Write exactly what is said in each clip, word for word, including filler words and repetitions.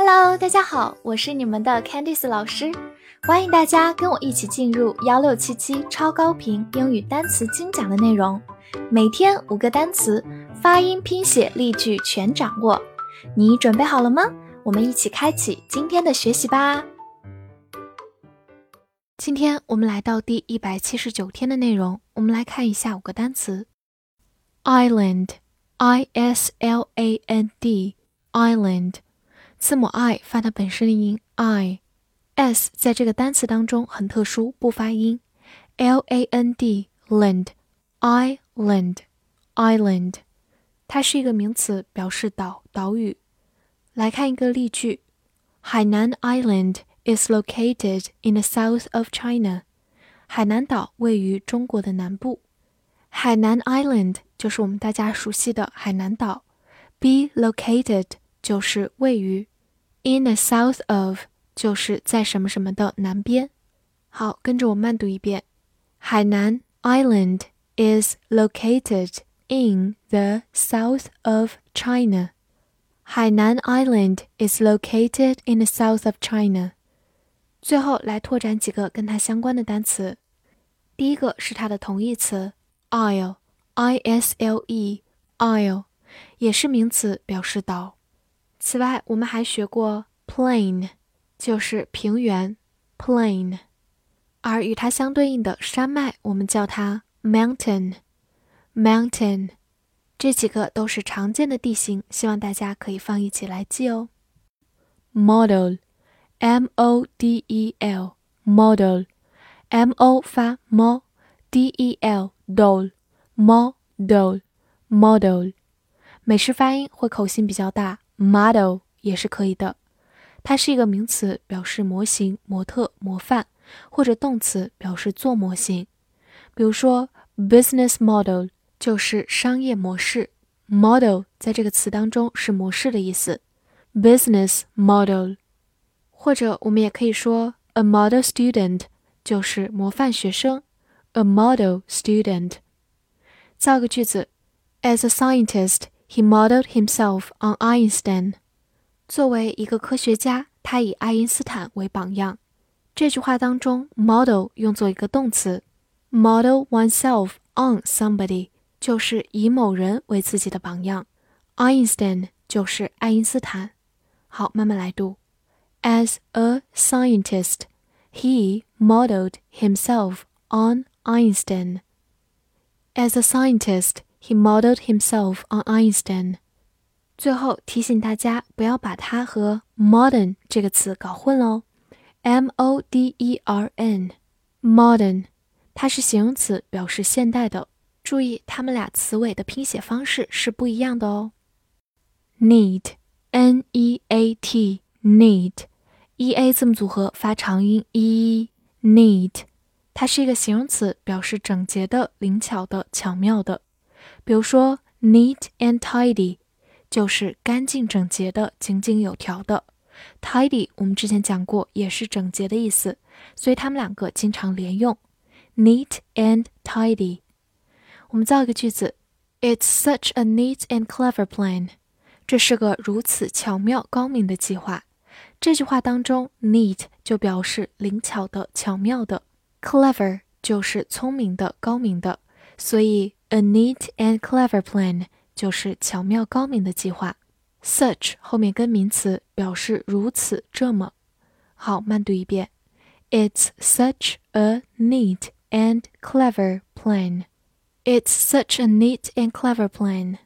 Hello， 大家好，我是你们的 Candice 老师，欢迎大家跟我一起进入一六七七超高频英语单词精讲的内容，每天五个单词，发音、拼写、例句全掌握。你准备好了吗？我们一起开启今天的学习吧。今天我们来到第一百七十九天的内容，我们来看一下五个单词。Island I S L A N D Island， 字母 I 发它本身的音 I， S 在这个单词当中很特殊，不发音 L A N D Land Island Island， 它是一个名词，表示岛岛屿。来看一个例句，海南 Island is located in the south of China， 海南岛位于中国的南部。海南 Island 就是我们大家熟悉的海南岛， be located 就是位于， in the south of 就是在什么什么的南边。好，跟着我慢读一遍，海南 Island is located in the south of China。 海南 Island is located in the south of China。 最后来拓展几个跟它相关的单词。第一个是它的同义词Isle I S L E Isle 也是名词，表示岛。此外我们还学过 plain 就是平原 plain， 而与它相对应的山脉我们叫它 mountain mountain。 这几个都是常见的地形，希望大家可以放一起来记哦。 Model M O D E L Model M O 发 mo D E L Dol Model Model， 美式发音会口型比较大， Model 也是可以的。它是一个名词，表示模型、模特、模范，或者动词表示做模型。比如说 business model 就是商业模式， model 在这个词当中是模式的意思， business model。 或者我们也可以说 a model student 就是模范学生， a model student。 造个句子， As a scientist, he modeled himself on Einstein。 作为一个科学家，他以爱因斯坦为榜样。这句话当中 model 用作一个动词， model oneself on somebody 就是以某人为自己的榜样， Einstein 就是爱因斯坦。好，慢慢来读。 As a scientist, he modeled himself on Einstein. As a scientist, he modeled himself on Einstein. 最后提醒大家不要把它和 modern 这个词搞混哦， M O D E R N modern 它是形容词，表示现代的。注意它们俩词尾的拼写方式是不一样的哦。 Neat N E A T Neat E A 字母组合发长音 E Neat， 它是一个形容词，表示整洁的、灵巧的、巧妙的。比如说 neat and tidy 就是干净整洁的、井井有条的， tidy 我们之前讲过也是整洁的意思，所以它们两个经常连用 neat and tidy。 我们造一个句子， It's such a neat and clever plan。 这是个如此巧妙高明的计划。这句话当中 neat 就表示灵巧的、巧妙的， clever 就是聪明的、高明的，所以 a neat and clever plan 就是巧妙高明的计划。 such 后面跟名词，表示如此这么。好，慢读一遍， It's such a neat and clever plan. It's such a neat and clever plan.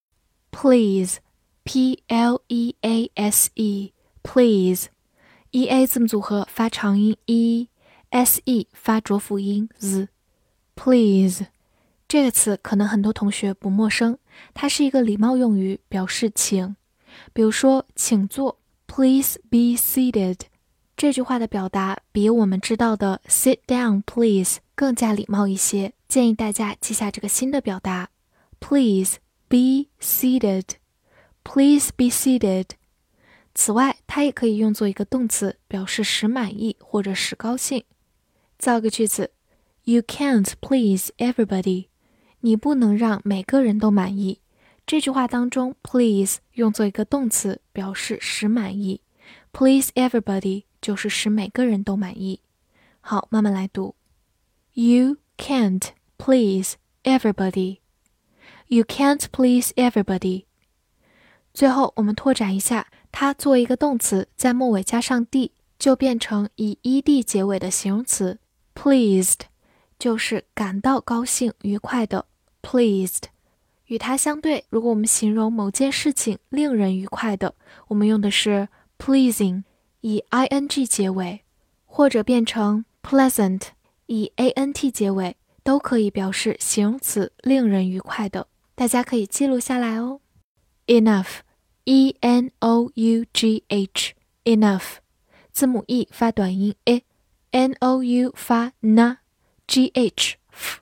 Please P L E A S E Please E A 字母组合发长音 E S E 发浊辅音 Z Please 这个词可能很多同学不陌生，它是一个礼貌用语，表示请。比如说请坐 Please be seated， 这句话的表达比我们知道的 sit down please 更加礼貌一些，建议大家记下这个新的表达 Please be seated Please be seated。 此外它也可以用作一个动词，表示使满意或者使高兴。造个句子， You can't please everybody， 你不能让每个人都满意。这句话当中 please 用作一个动词，表示使满意， please everybody 就是使每个人都满意。好，慢慢来读。You can't please everybody. You can't please everybody. 最后我们拓展一下，它作为一个动词，在末尾加上 d 就变成以 ed 结尾的形容词 pleased， 就是感到高兴愉快的 pleased。 与它相对，如果我们形容某件事情令人愉快的，我们用的是 pleasing， 以 ing 结尾，或者变成 pleasant， 以 ant 结尾，都可以表示形容词令人愉快的。大家可以记录下来哦。 Enough E N O U G H Enough 字母 E 发短音 e N O U 发 n G H f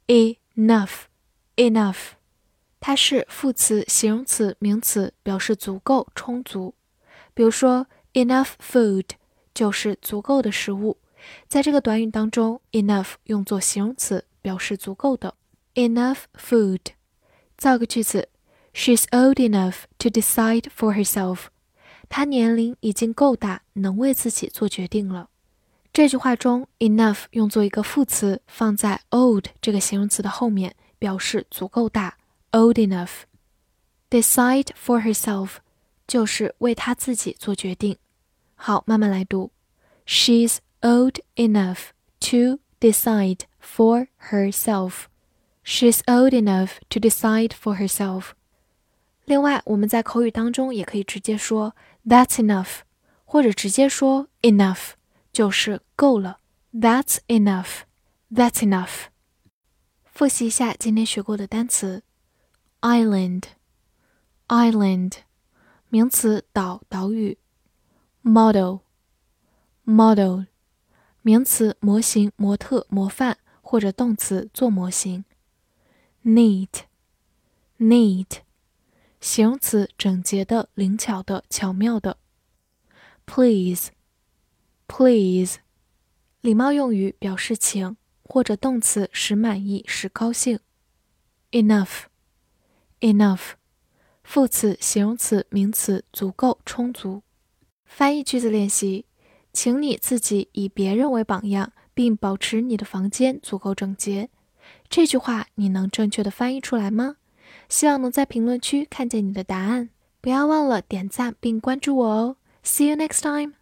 Enough Enough 它是副词、形容词、名词，表示足够、充足。比如说 enough food 就是足够的食物。在这个短语当中 enough 用作形容词，表示足够的。 Enough food。 造个句子， She's old enough to decide for herself. 她年龄已经够大，能为自己做决定了。这句话中 enough 用作一个副词，放在 old 这个形容词的后面，表示足够大 old enough。 Decide for herself 就是为她自己做决定。好，慢慢来读。 She's old enough to decide for herself. She's old enough to decide for herself. 另外，我们在口语当中也可以直接说 That's enough， 或者直接说 enough， 就是够了。 That's enough. That's enough. 复习一下今天学过的单词。 Island Island 名词，岛、岛屿。 Model Model 名词，模型、模特、模范，或者动词，做模型。Neat Neat 形容词，整洁的、灵巧的、巧妙的。Please Please 礼貌用语，表示请，或者动词，使满意、使高兴。Enough Enough 副词、形容词、名词，足够、充足。翻译句子练习，请你自己以别人为榜样，并保持你的房间足够整洁。这句话你能正确的翻译出来吗？希望能在评论区看见你的答案。不要忘了点赞并关注我哦。See you next time!